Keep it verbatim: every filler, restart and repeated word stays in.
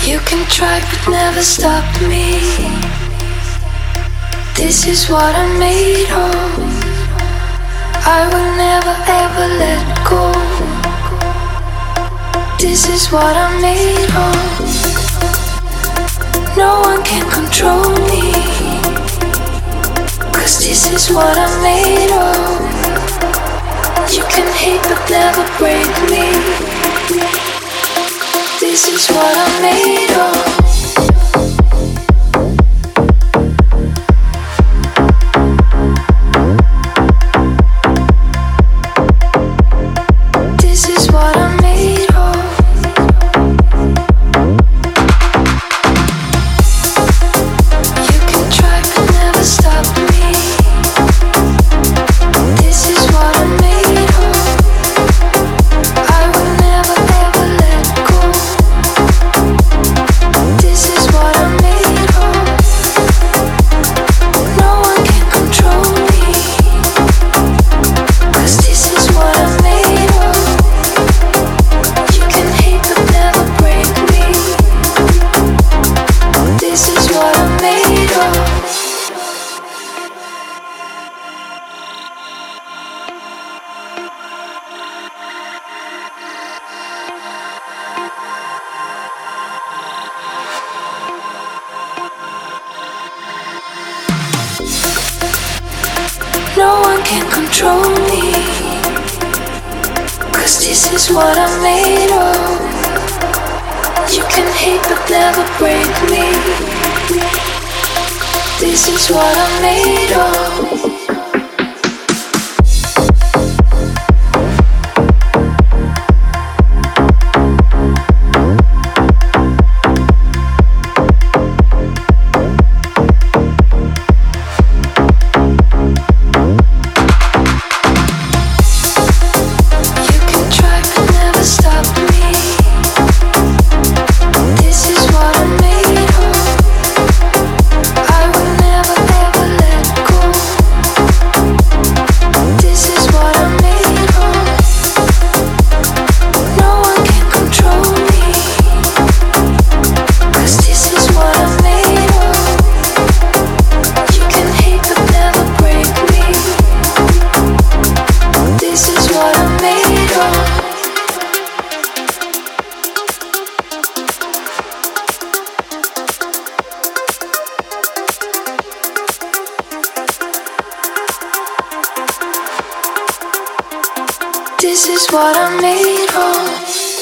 You can try but never stop me. This is what I'm made of. I will never ever let go. This is what I'm made of. No one can control me, 'cause this is what I'm made of. You can hate but never break me. This is what I'm made of. No one can control me, 'cause this is what I'm made of. You can hate but never break me. This is what I'm made of. This is what I'm made of.